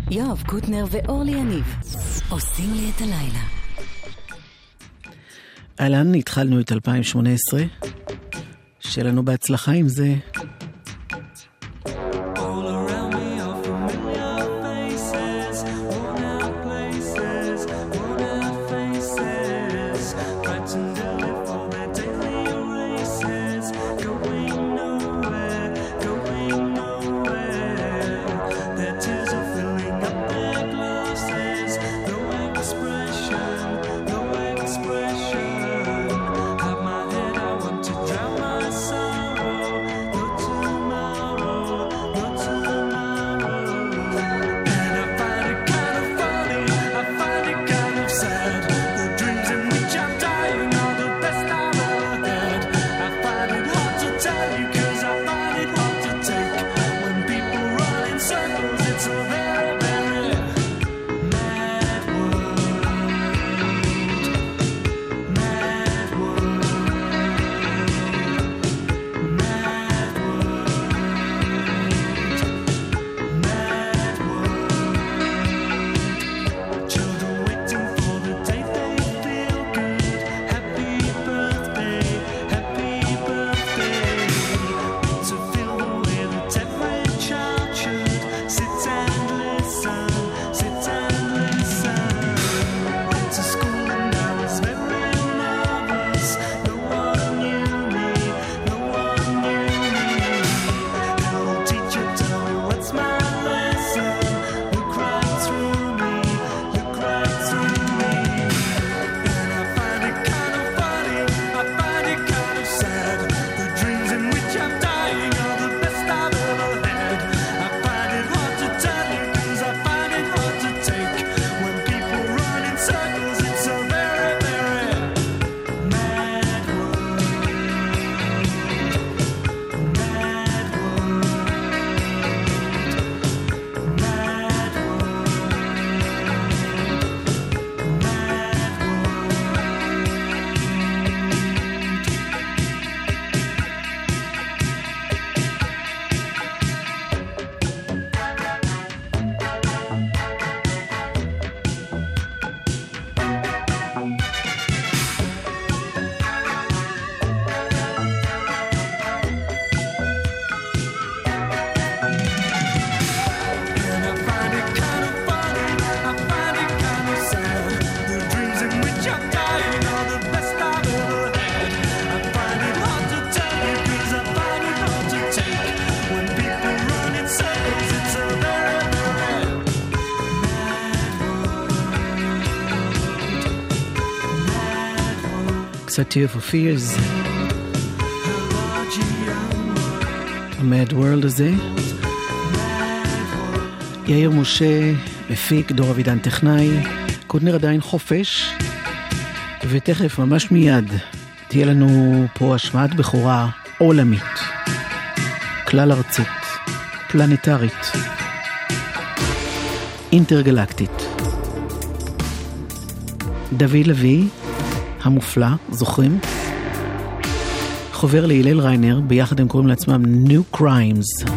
יואב קוטנר ואורלי יניב עושים לי את הלילה. אהלן, התחלנו את 2018. שיהיה לנו בהצלחה עם זה. Tear for Fears, המד וורלד הזה. יאיר משה מפיק, דור אבידן טכנאי, קוטנר עדיין חופש, ותכף ממש מיד תהיה לנו פה השמעת בכורה עולמית, כלל ארצית, פלנטרית, אינטרגלקטית. דוד לוי המופלא, זוכרים? חובר להילל ריינר, ביחד הם קוראים לעצמם New Crimes.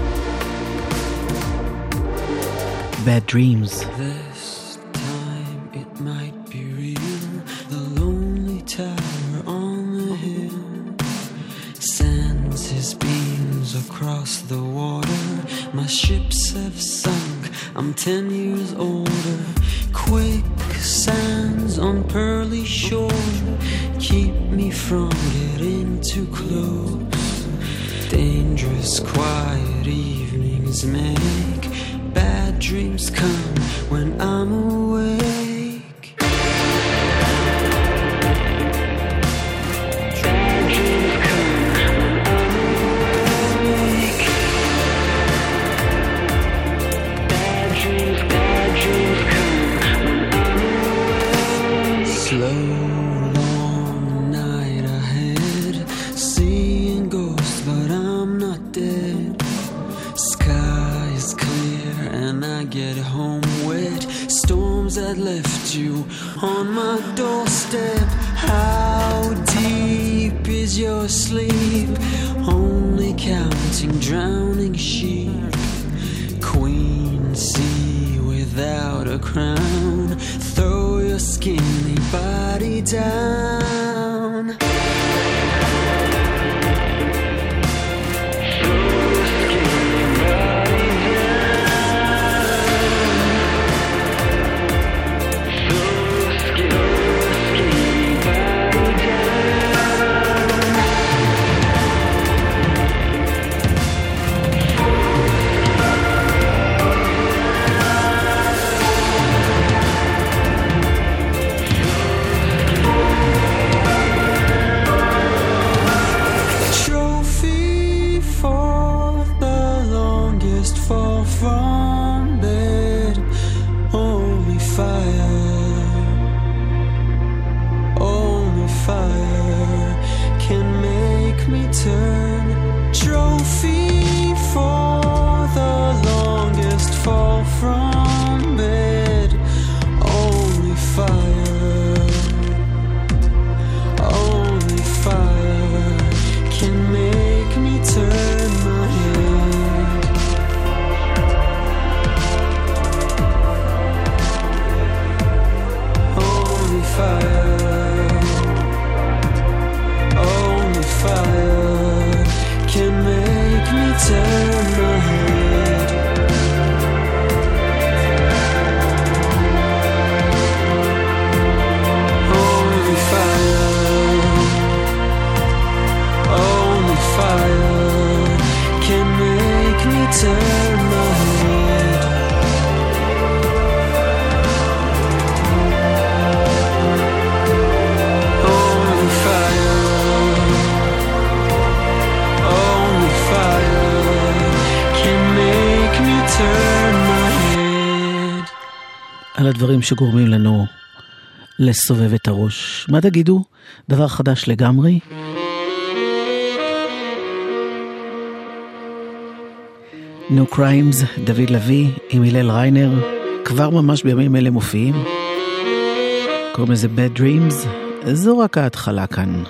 Bad Dreams. This time it might be real, the lonely tower on the hill sends his beams across the water. My ships have sunk, I'm 10 years older. Quicksands on pearly shore keep me from getting too close. Dangerous quiet evenings make bad dreams come when I'm awake. Bad dreams come when I'm awake. Bad dreams come when I'm awake. Slow long night ahead, seeing ghosts but I'm not dead. Sky is clear and I get home wet. Storms that left you on my doorstep. How deep is your sleep? Only counting drowning sheep. Queen sea with without a crown. Throw your skinny body down. על הדברים שגורמים לנו לסובב את הראש. מה תגידו? דבר חדש לגמרי? No Crimes, דוד לוי עם הלל ריינר, כבר ממש בימים אלה מופיעים. קוראים לזה Bad Dreams, זו רק ההתחלה כאן.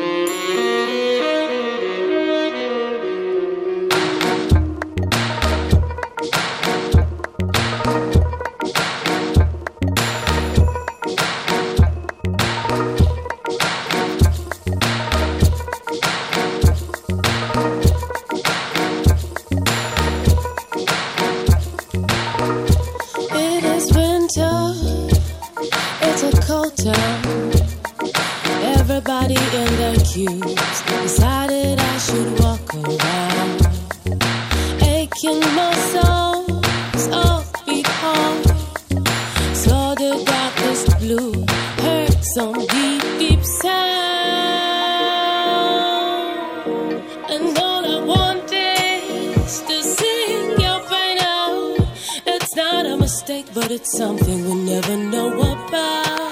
But it's something we'll never know about.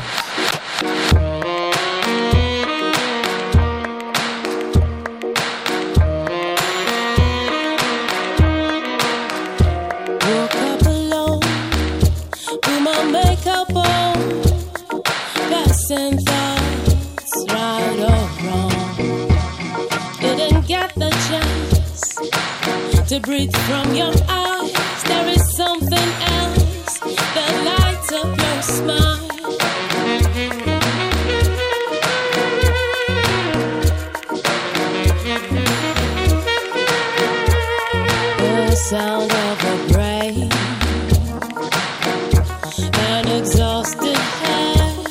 Woke up alone, put my makeup on, passing thoughts right or wrong. Didn't get the chance to breathe from your eyes. There is something else that lights up your smile. The sound of a brain, an exhausted head,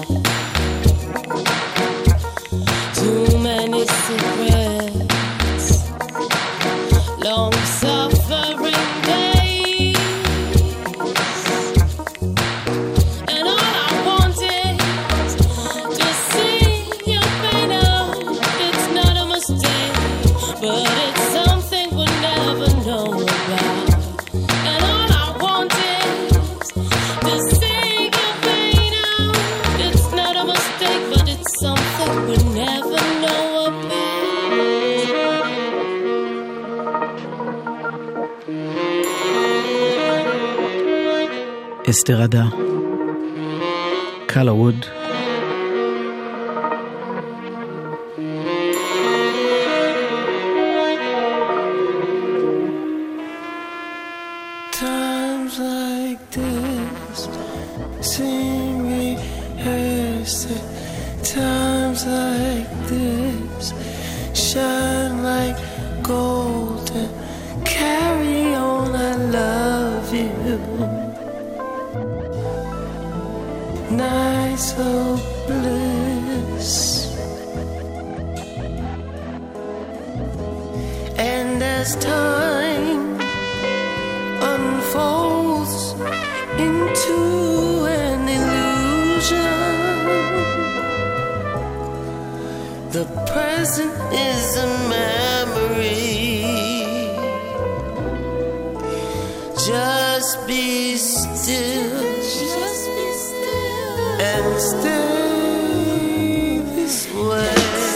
too many secrets, long suffering days. But it's something we'll never know about. And all I want is to see your pain out. It's not a mistake, but it's something we'll never know about. אסתר עדה, קאלה ווד. Times like this seem rehearsed at times like this. Shine like gold and carry on, I love you. Nights of bliss. And as time unfolds into an illusion, the present is a memory. Just be still, and stay this way.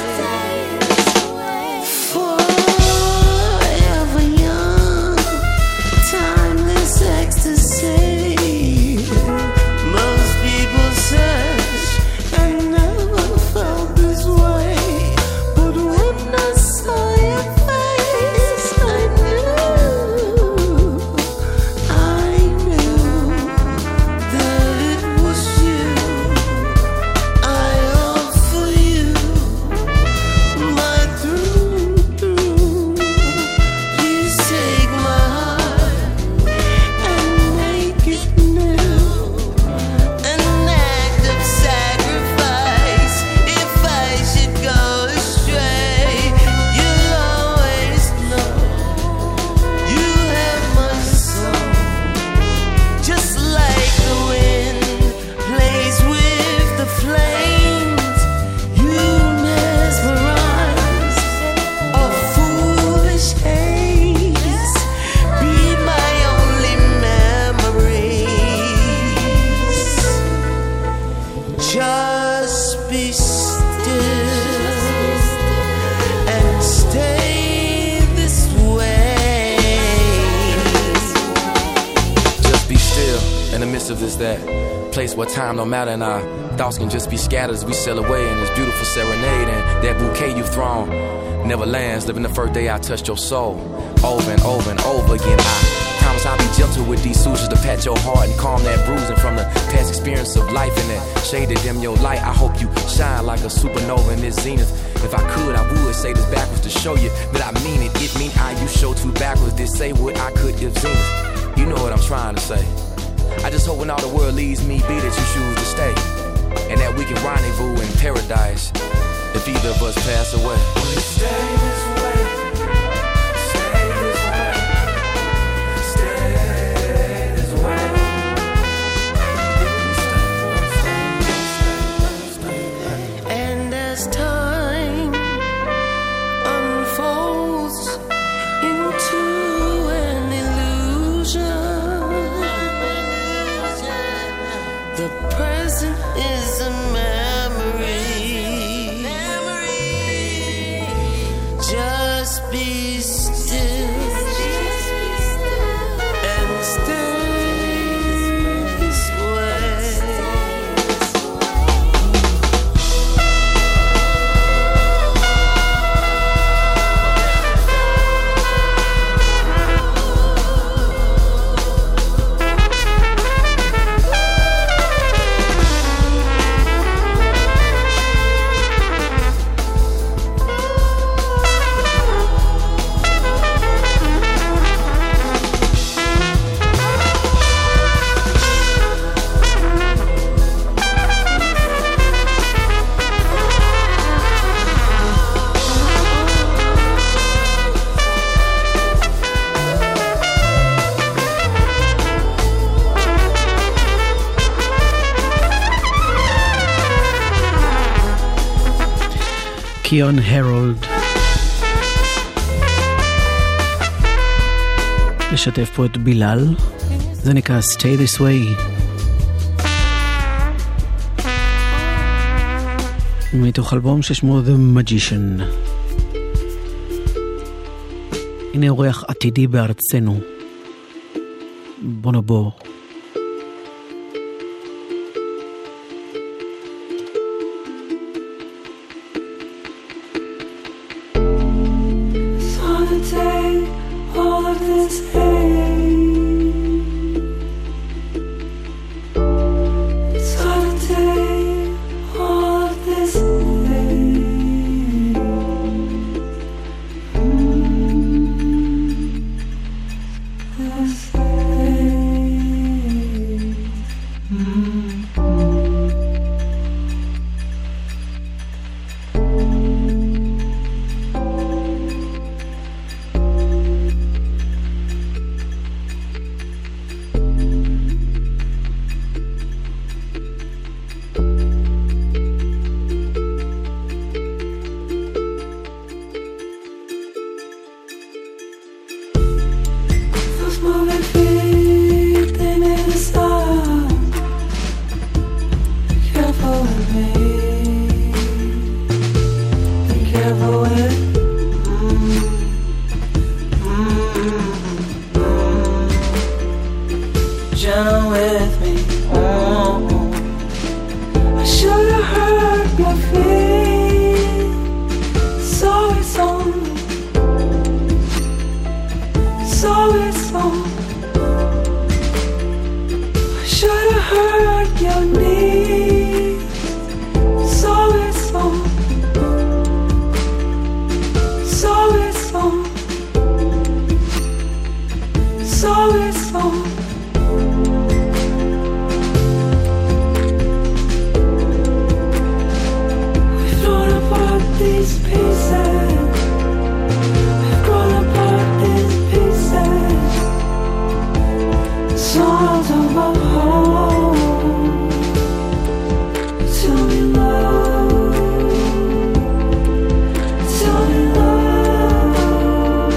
What time don't matter, and our thoughts can just be scattered as we sail away in this beautiful serenade. And that bouquet you've thrown never lands. Living the first day I touched your soul, over and over and over again. I promise I'll be gentle with these sutures to pat your heart and calm that bruising from the past experience of life. And that shade that dim your light, I hope you shine like a supernova in this zenith. If I could, I would say this backwards to show you that I mean it. It mean I you show too backwards. Did say what I could if zenith. You know what I'm trying to say. I just hope when all the world leaves me be that you choose to stay, and that we can rendezvous in paradise if either of us pass away. Will you stay this way? Stay this way. Stay this way. And as time unfolds into an illusion, the present is a memory. Just be still and stay this way. קיון הרולד. לשתף פה את בילal, זה נקרא Stay This Way. מתוך אלבום ששמו The Magician. הנה אורח עתידי בארצנו, בונובו. All of this hate with me. I should have heard your feet. So it's only, so it's only. I should have heard your knees. So it's only, so it's only, so it's only. These pieces, we've grown apart these pieces, the songs of our home. Tell me love, tell me love.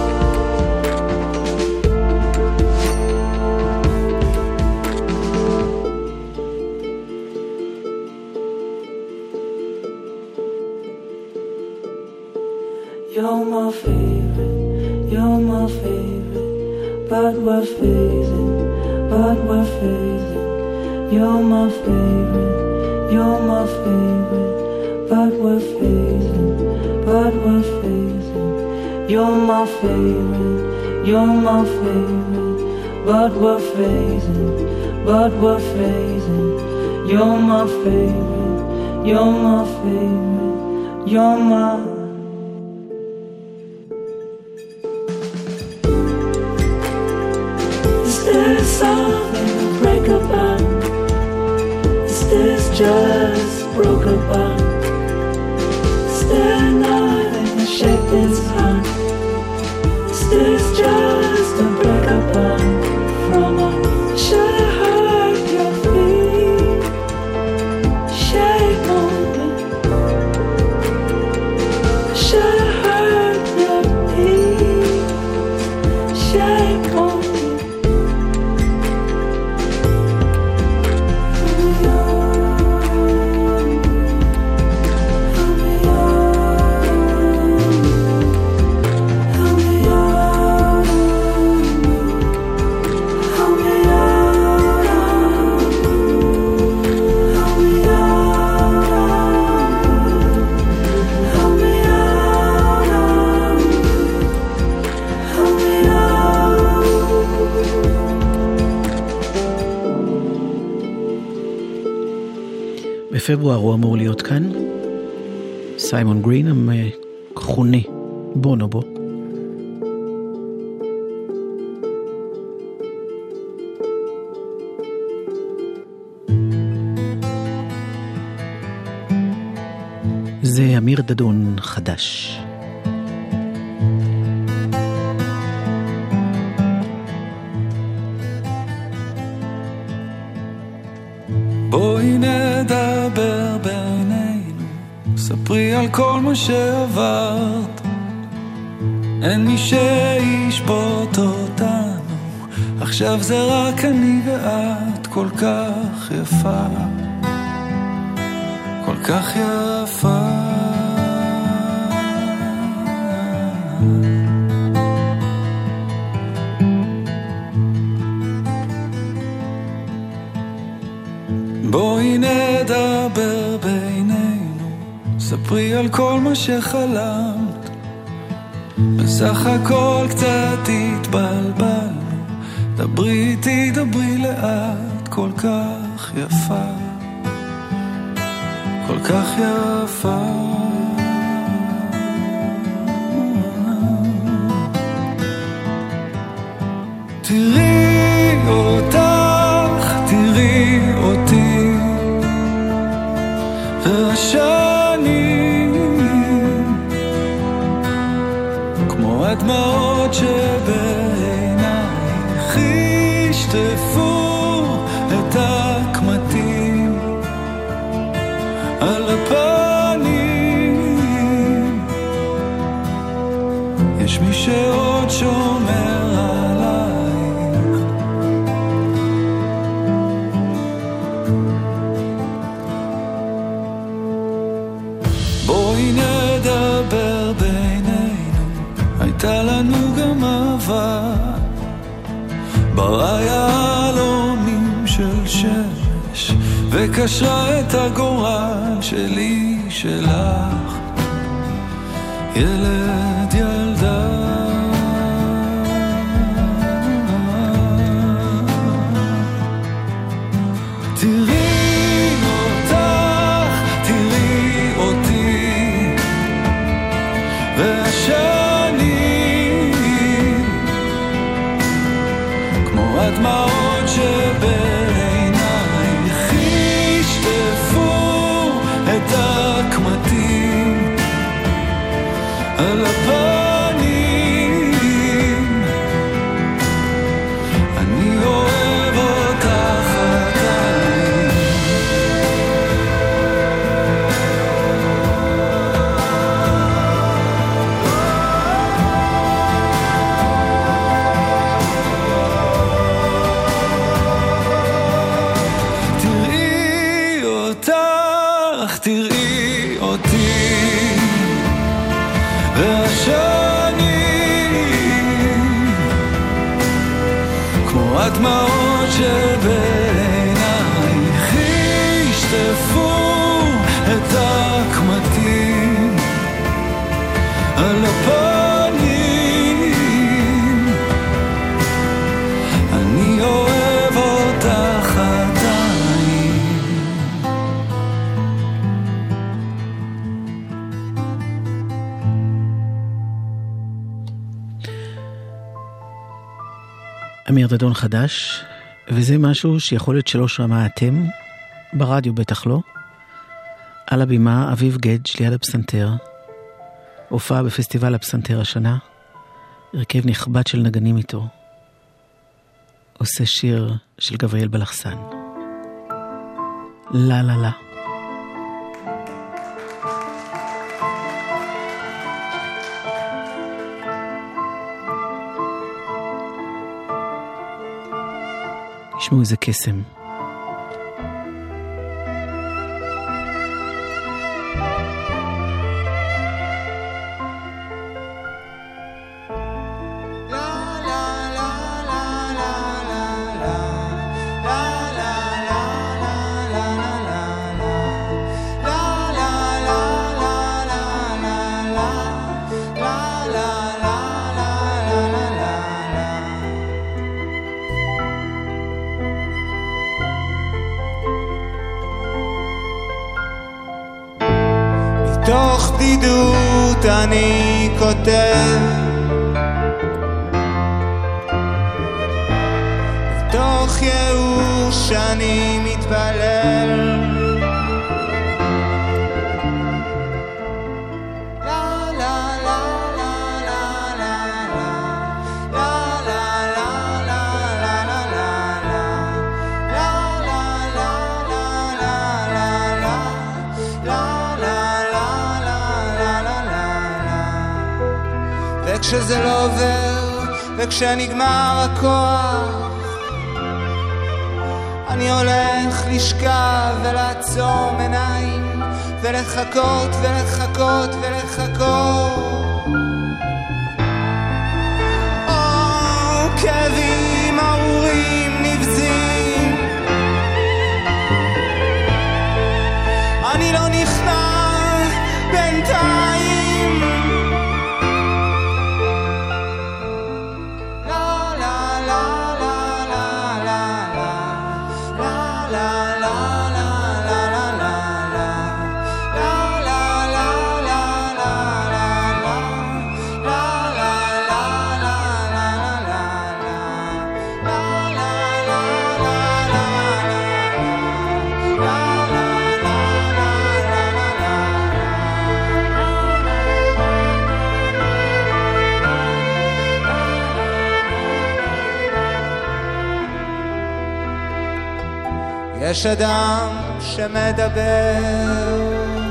You're my favorite, you're my favorite, but we're phasing, but we're phasing. You're my favorite, you're my favorite, but we're phasing, but we're phasing. You're my favorite, you're my favorite, but we're phasing, but we're phasing. You're my favorite, you're my favorite, you're my. Is there something to break about? Is this just broken bond? Is there nothing to shake this heart? Is this just a break apart from us? Should have heard your feet shake on me. Should have heard your feet shake on me. בפברואר הוא אמור להיות כאן, סיימון גרין המכונה בונובו. זה אמיר דדון חדש. בואי נדבר בינינו, ספרי על כל מה שעברת. אין מי שישפוט אותנו, עכשיו זה רק אני ואת. כל כך יפה, כל כך יפה. בואי נדבר בינינו, ספרי על כל מה שחלמת. בסך הכל קצת התבלבלנו, דברי איתי, דברי לאט. כל כך יפה, כל כך יפה. תראי אותך, תראי אותי, והשנים כמו הדמעות שבעינייך ישטפו את הקמטים על הפנים. יש מי שעוד שומר עלייך, בואי נדבר בינינו. הייתה לנו גם אהבה ברא יהלומים של שמש וקשרה את הגורל שלי שלך, ילד ילדה. תראי אותך, תראי אותי, והשנים כמו הדמעות שבעינייך ישטפו את הקמטים על הפנים. אני אוהב אותך עדיין. תראי אותך, תראי אותי, והשנים כמו הדמעות שבעינייך ישטפו את הקמטים על הפנים. אני אוהב אותך עדיין. אמיר דדון חדש, וזה משהו שיכול להיות שלא שמעתם, ברדיו בטח לא. על הבימה אביב גדג' ליד הפסנתר, הופעה בפסטיבל הפסנתר השנה, הרכב נכבד של נגנים איתו, עושה שיר של גבריאל בלחסן, לה לה לה. תשמעו איזה קסם. מתוך בדידות אני כותב, מתוך ייאוש אני מתפלל. וכשזה לא עובר, וכשנגמר הכוח, אני הולך לשכב ולעצום עיניים ולחכות ולחכות ולחכות. כאבים ארורים נבזים, אני לא נכנע בינתיים. יש אדם שמדבר,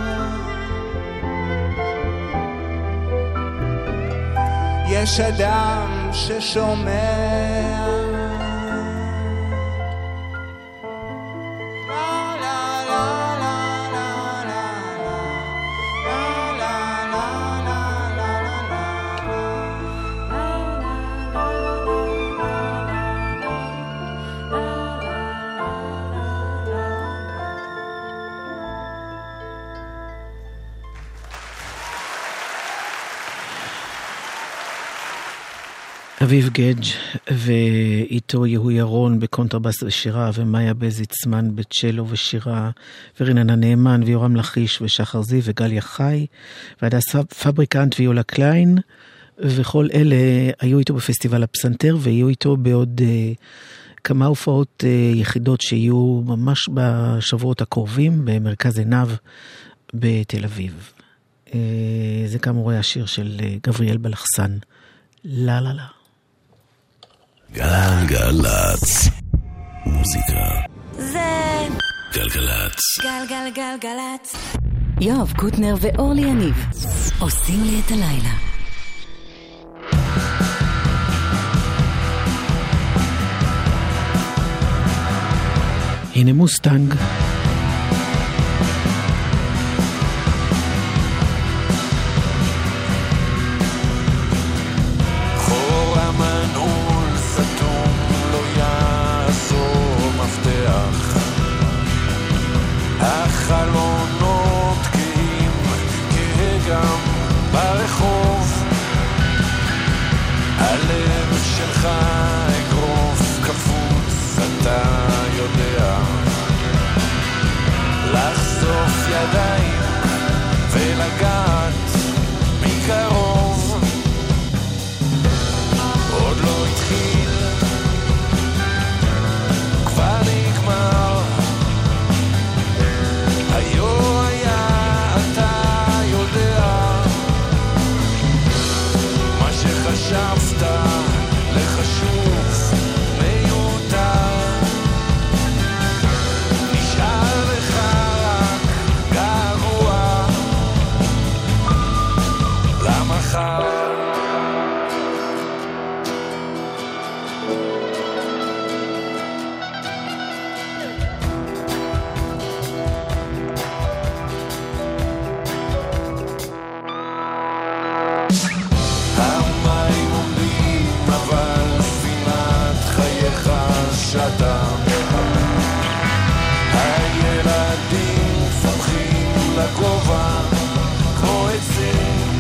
יש אדם ששומע, אביב גדג' ואיתו יהוא ירון בקונטרבס ושירה, ומאיה בזיצמן בצ'לו ושירה, וריננה נאמן ויורם לחיש ושחר זיו וגליה חי והדס פבריקנט ויולה קליין, וכל אלה היו איתו בפסטיבל הפסנתר, ויהיו איתו בעוד כמה הופעות יחידות שיהיו ממש בשבועות הקרובים במרכז עיניו בתל אביב. זה כאמור השיר של גבריאל בלחסן, לה לה לה. גלגלצ, מוזיקה זה גלגלצ. גלגלגלגלצ. יואב קוטנר ואורלי יניב עושים לי את הלילה. הנה מוסטנג. החלונות קהים כגם ברחוב, הלב שלך אגרוף קפוץ, אתה יודע לחשוף ידיים ולגעת מקרוב. עוד לא התחיל, כבר נגמר, היו היה אתה יודע מה שחשבת לחשוב מיותר, נשאר לך רק גרוע למחר. המים עומדים אבל ספינת חייך שתה, הילדים צומחים לגובה כמו עצים,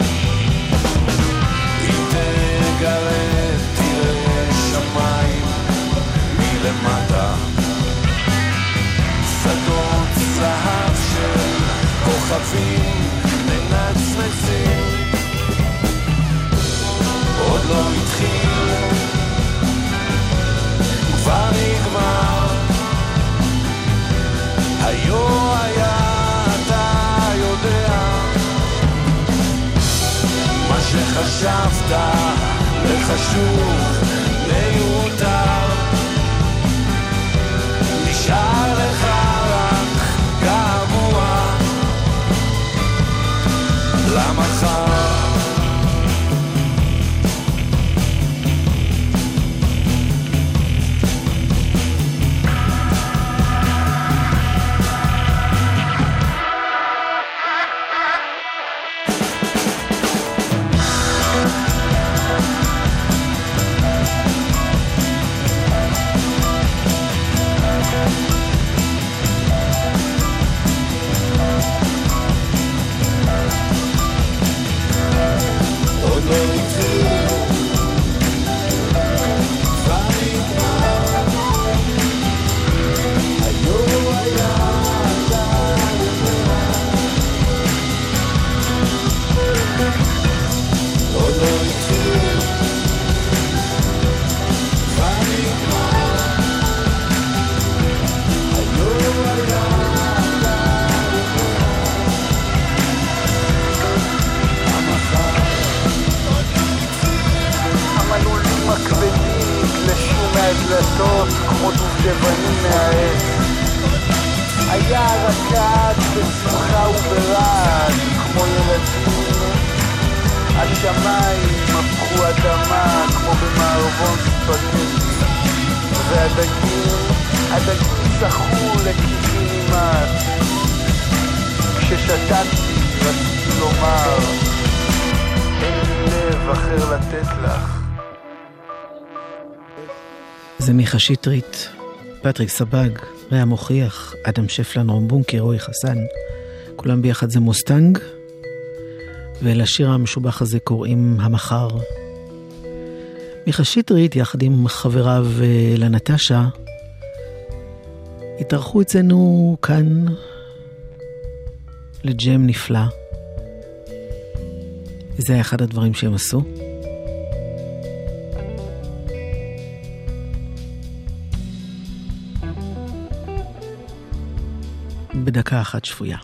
אם תגלה תראה שמיים מלמטה, שדות זהב של כוכבים מנצנצים. עוד לא התחיל, כבר נגמר, היו היה אתה יודע מה שחשבת לחשוב מיותר, נשאר לך רק געגוע למחר. דלתות כמו דובדבנים מהעץ, היה רקד בשמחה וברעד כמו ילדים, השמיים הפכו אדמה כמו במערבון ספגטי, והדגים שחו לקיבינימט. כששתקתי רציתי לומר, אין לי לב אחר לתת לך. זה מיכה שטרית, פטריק סבג, ריה מוכיח, אדם שפלן, רום בונקר, רועי חסן. כולם ביחד זה מוסטנג, ולשיר המשובח הזה קוראים המחר. מיכה שטרית יחד עם חבריו לנטשה התארחו אצלנו כאן לג'ם נפלא. זה היה אחד הדברים שהם עשו. בדקה אחת שפויה.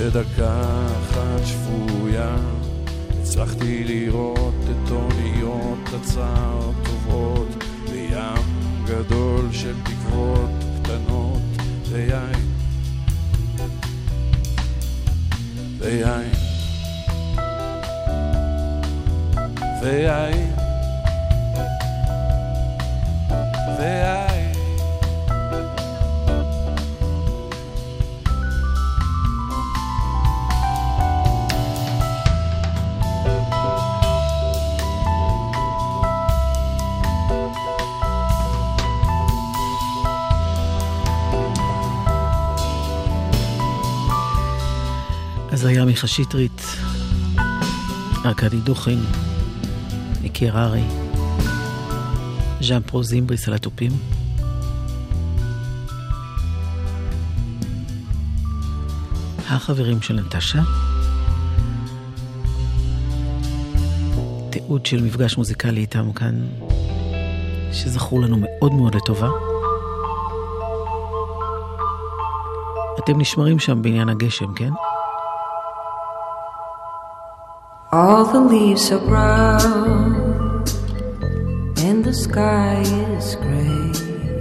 בדקה אחת שפויה הצלחתי לראות את אוניות הצער טובות בים גדול של תקוות קטנות ויין ויין ויין ויין אז היה מיכה שטרית, ארכדי דוכין, ניקי הררי, ז'אן פרו זימבריס על התופים. החברים של נטשה. תיעוד של מפגש מוזיקלי איתם כאן, שזכרו לנו מאוד מאוד לטובה. אתם נשמרים שם בעניין הגשם, כן? All the leaves are brown and the sky is gray.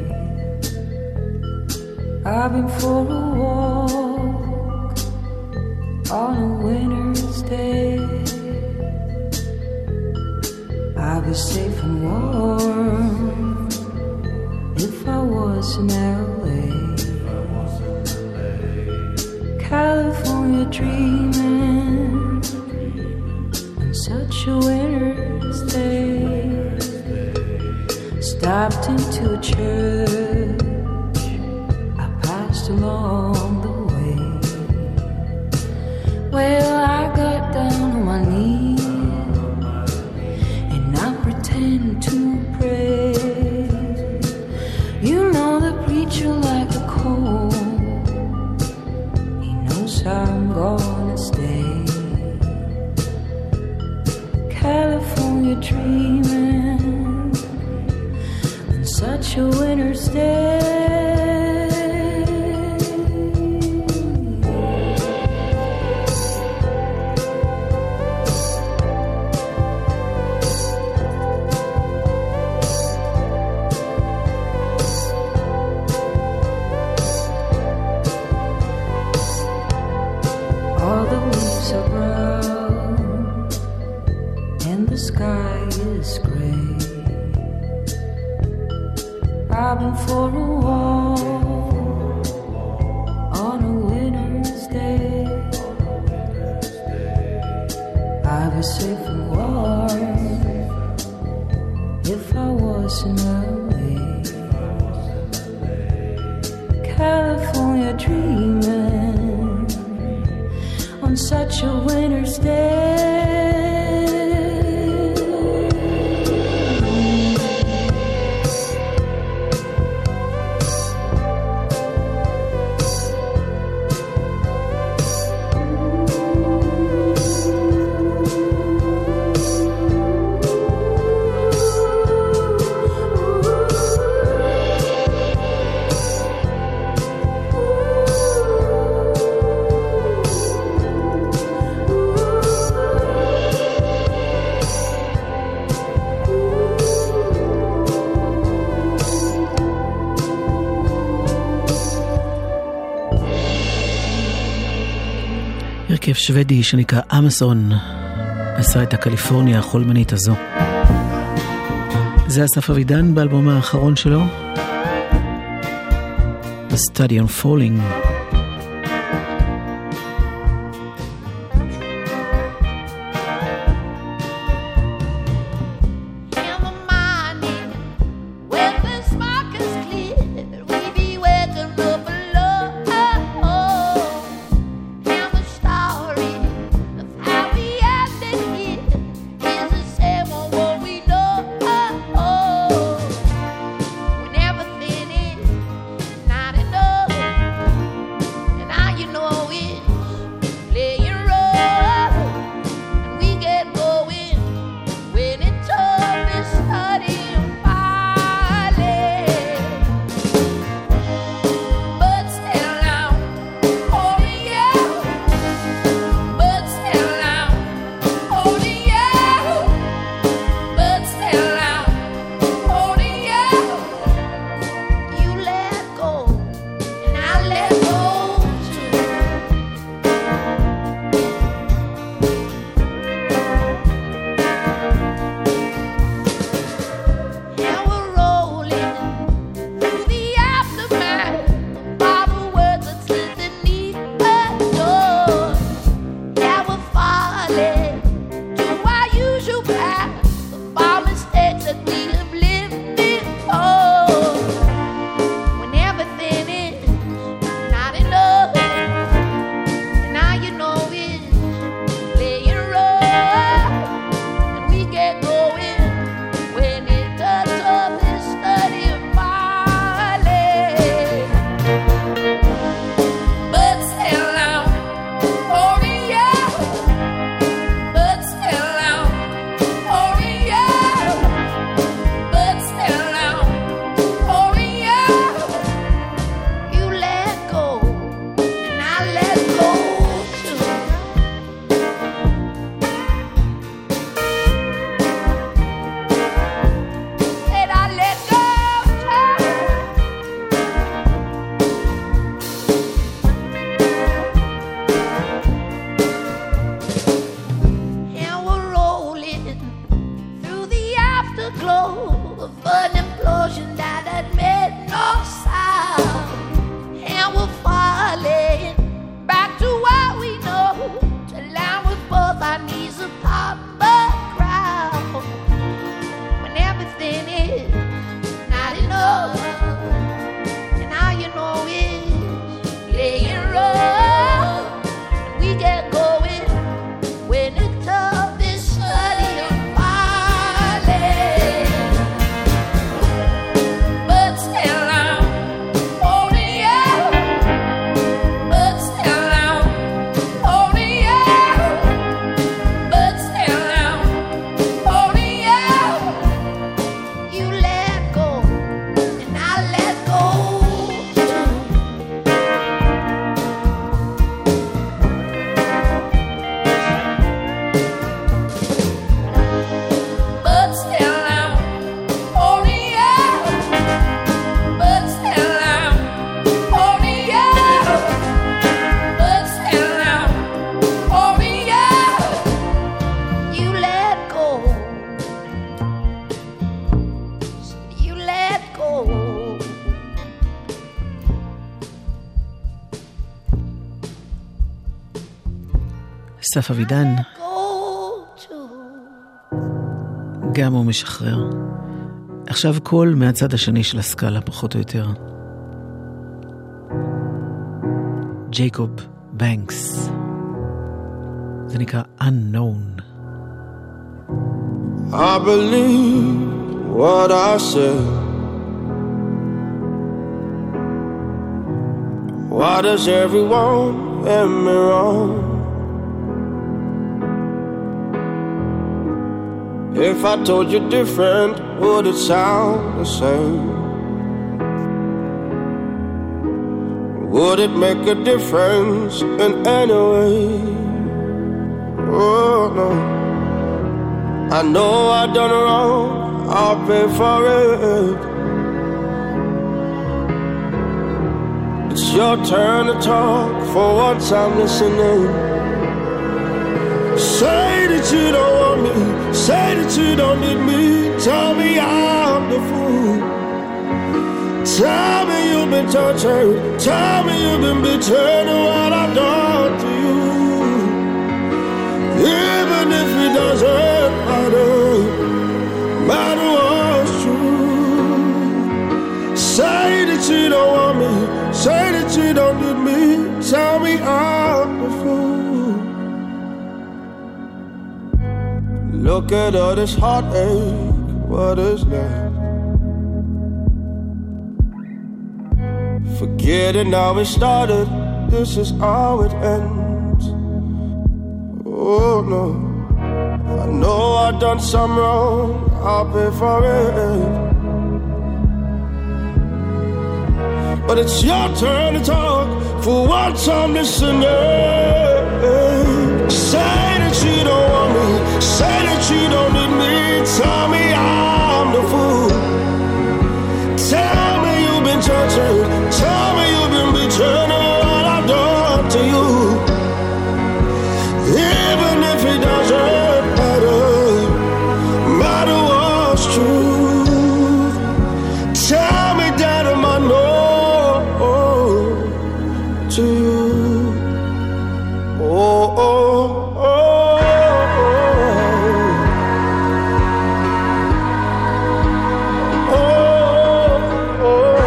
I've been for a walk on a winter's day. I'd be safe and warm if I was in LA. California dreaming such a winter's day. Stopped into a church I passed along the way. Well, I got down on my knees and I pretend to pray. You know the preacher like a cold, he knows I'm gonna stay. California dreaming on such a winter's day. All the leaves are brown and the sky is gray. I've been for a walk on a winter's day. I'd be safe and warm if I was in LA. California dreaming on such a winter's day. הרכב שוודי שנקרא אמזון עשה את הקליפורניה החולמנית הזו. זה אסף אבידן באלבום האחרון שלו, The Study on Falling. When everything is not enough. אסף אבידן, גם הוא משחרר. עכשיו קול מהצד השני של הסקאלה, פחות או יותר. ג'ייקוב בנקס. זה נקרא Unknown. I believe what I said. Why does everyone get me wrong? If I told you different, would it sound the same? Would it make a difference in any way? Oh no, I know I've done wrong, I'll pay for it. It's your turn to talk, for once I'm listening. Say that you don't want me, say that you don't need me. Tell me I'm the fool. Tell me you've been tortured, tell me you've been betrayed and what I've done to you. Even if it doesn't matter what's true. Say that you don't want me, say that you don't need me. Tell me I'm the fool. Look at all this heartache, what is that? Forgetting how it started, this is how it ends. Oh no, I know I've done some wrong, I'll pay for it. But it's your turn to talk, for once I'm listening. Say that you don't want me, say that you don't need me. Tell me I'm the fool. Tell me you've been tortured, tell me you've been betrayed and what I've done to you. Even if it doesn't matter what's true. Tell me that I'm unknown to you. Oh, oh, oh, oh, oh, oh.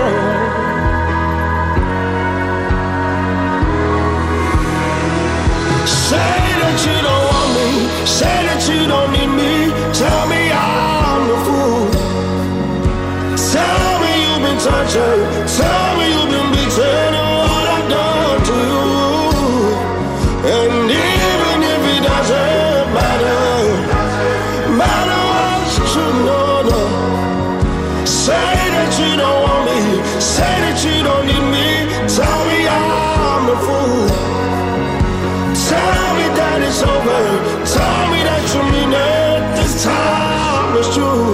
Say that you don't want me, say that you don't need me. Tell me I'm the fool. Tell me you've been tortured, tell me you've been betrayed and what I've done to you. And even if it doesn't matter what's true, no, no. Say that you don't want me, say that you don't need me. Tell me I'm the fool. Tell me that it's over, tell me that you mean it, this time is true.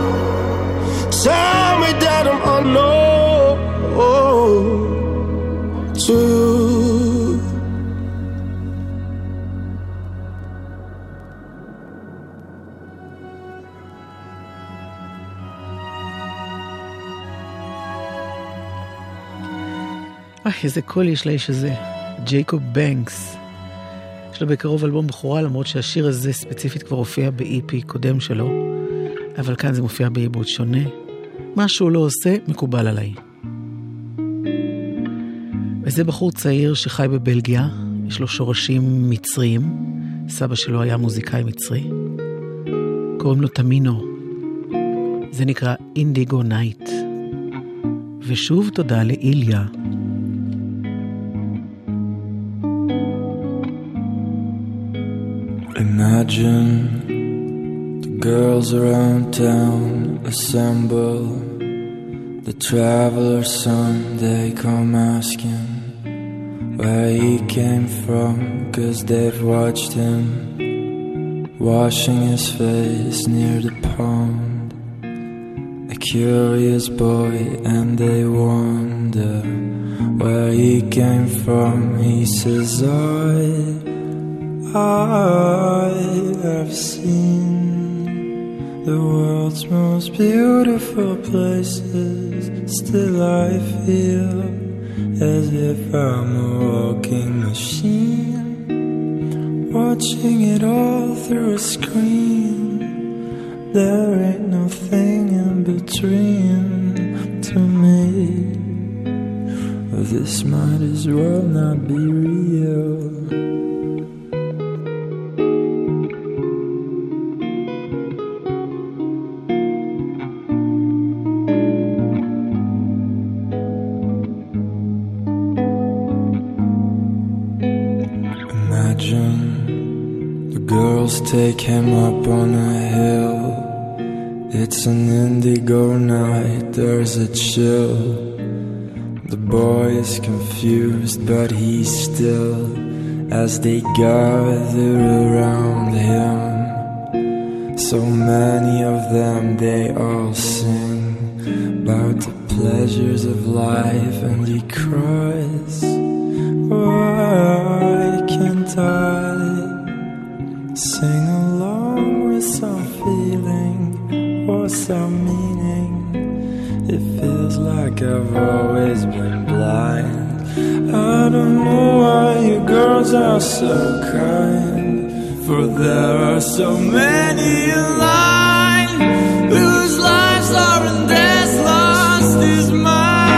Tell me that I'm unknown to you. איזה קול יש לאיש הזה, ג'ייקוב בנקס. יש לו בקרוב אלבום בחורה, למרות שהשיר הזה ספציפית כבר הופיע ב-EP קודם שלו, אבל כאן זה מופיע בעיבוד שונה. מה שהוא לא עושה מקובל עליי. וזה בחור צעיר שחי בבלגיה, יש לו שורשים מצריים, סבא שלו היה מוזיקאי מצרי, קוראים לו תמינו, זה נקרא אינדיגו נייט. ושוב תודה לאיליה. Imagine the girls around town assemble. The traveler's son, they come asking where he came from, 'cause they've watched him washing his face near the pond. A curious boy, and they wonder where he came from. He says, I have seen the world's most beautiful places. Still I feel as if I'm a walking machine. What watching it all through a screen. There ain't nothing in between to me. This might as well not be real. Take him up on a hill. It's an indigo night, there's a chill. The boy is confused, but he's still. As they gather around him, so many of them, they all sing about the pleasures of life, and he cries, why can't I sing along with some feeling or some meaning? It feels like I've always been blind. I don't know why you girls are so kind, for there are so many in line whose lives are in death, lost is mine.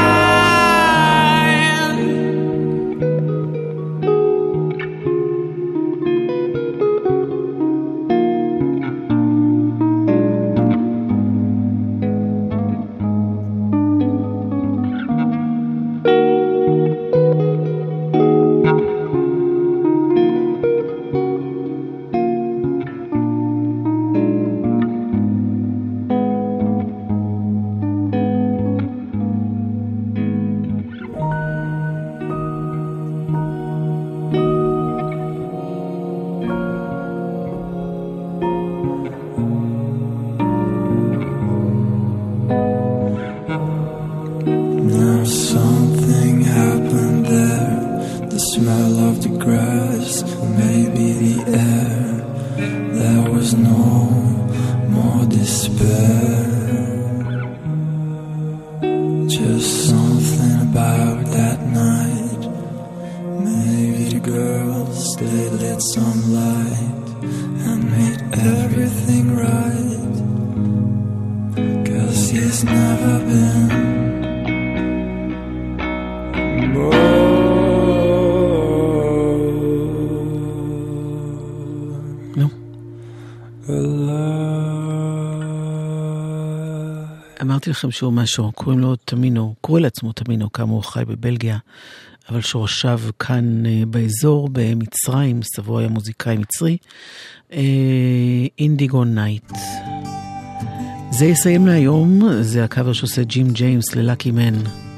אמרתי לכם שהוא משהו, קוראים לו תמינו, קורא לעצמו תמינו, כאמור חי בבלגיה, אבל שורשיו כאן באזור, במצרים, סבו היה מוזיקאי מצרי, אינדיגו נייט. זה יסיים להיום, זה הקאבר שעושה ג'ים ג'יימס ללאקי מן.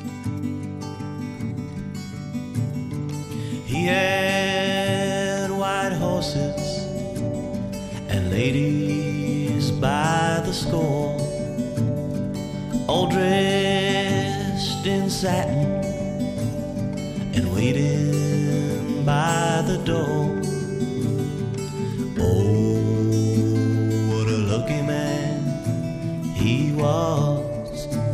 He had white horses and ladies by the score, all dressed in satin and waiting by the door. Oh, what a lucky man he was.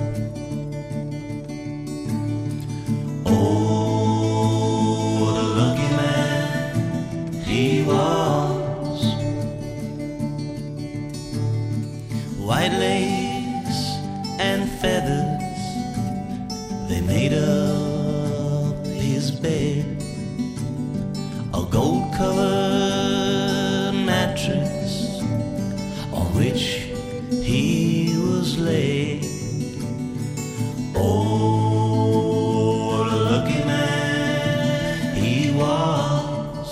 Oh, what a lucky man he was. White lace and feathers, they made up his bed. A gold-covered mattress on which he was laid. Oh, what a lucky man he was.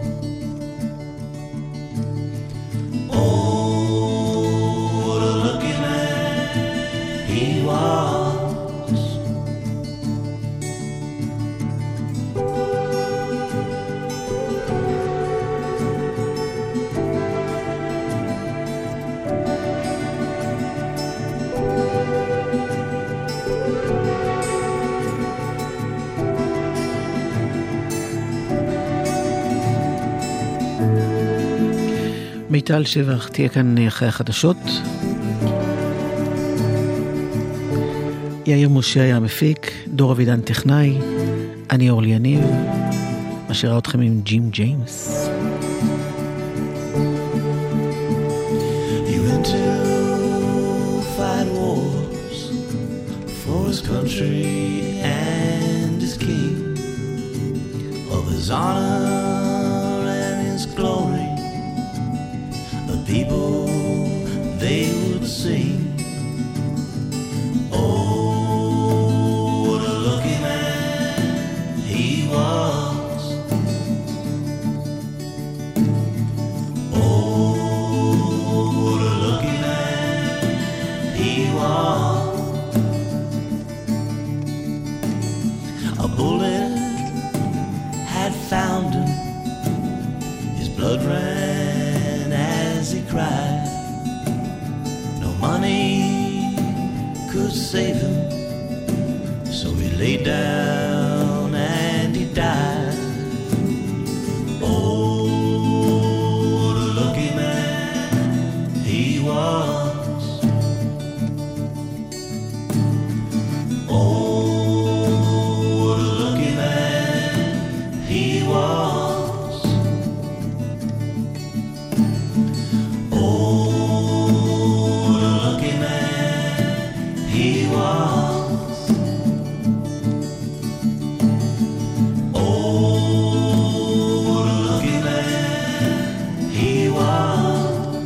Oh, what a lucky man he was. מיטל שבח תהיה כאן אחרי החדשות. יאיר משה היה מפיק, דור אבידן טכנאי, אני אורלי יניב, משאירה אתכם עם ג'ים ג'יימס. His honor and His glory, the people they would sing. Oh, what a lucky man he was. Oh, what a lucky man he was. A bullet had found him, his blood ran as he cried. No money could save him, so he lay down and he died. Oh, what a lucky man he was. Oh, what a lucky man he was. Oh, what a lucky man he was. Oh, what a lucky man he was.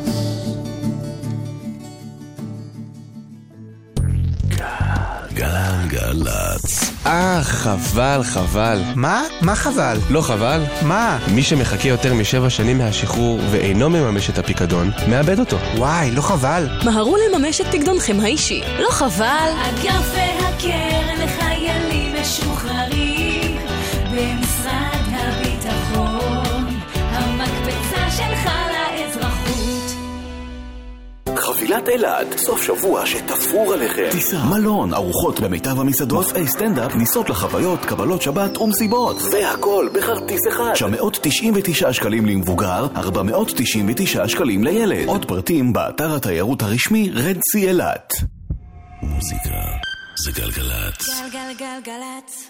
גלגלצ. חבל, חבל. מה? מה חבל? לא חבל? מה? מי שמחכה יותר מ7 שנים מהשחרור ואינו מממש את הפיקדון, מאבד אותו. וואי, לא חבל. מהרו לממש את פיקדונכם האישי. לא חבל? אגף והקרן לחיילים משוחררים במשרד הביטחון, המקפצה שלך לאזרחות. חבילת אלעד, סוף שבוע שתפור עליכם. טיסה, מלון, ארוחות במיטב המסעדות, מופעי סטנדאפ, ניסות לחוויות, קבלות שבת ומסיבות. והכל בכרטיס אחד. 999 שקלים למבוגר, 499 שקלים לילד. עוד פרטים באתר התיירות הרשמי רדסי אלעד. מוזיקה זה גלגלצ. גלגלגלגלצ.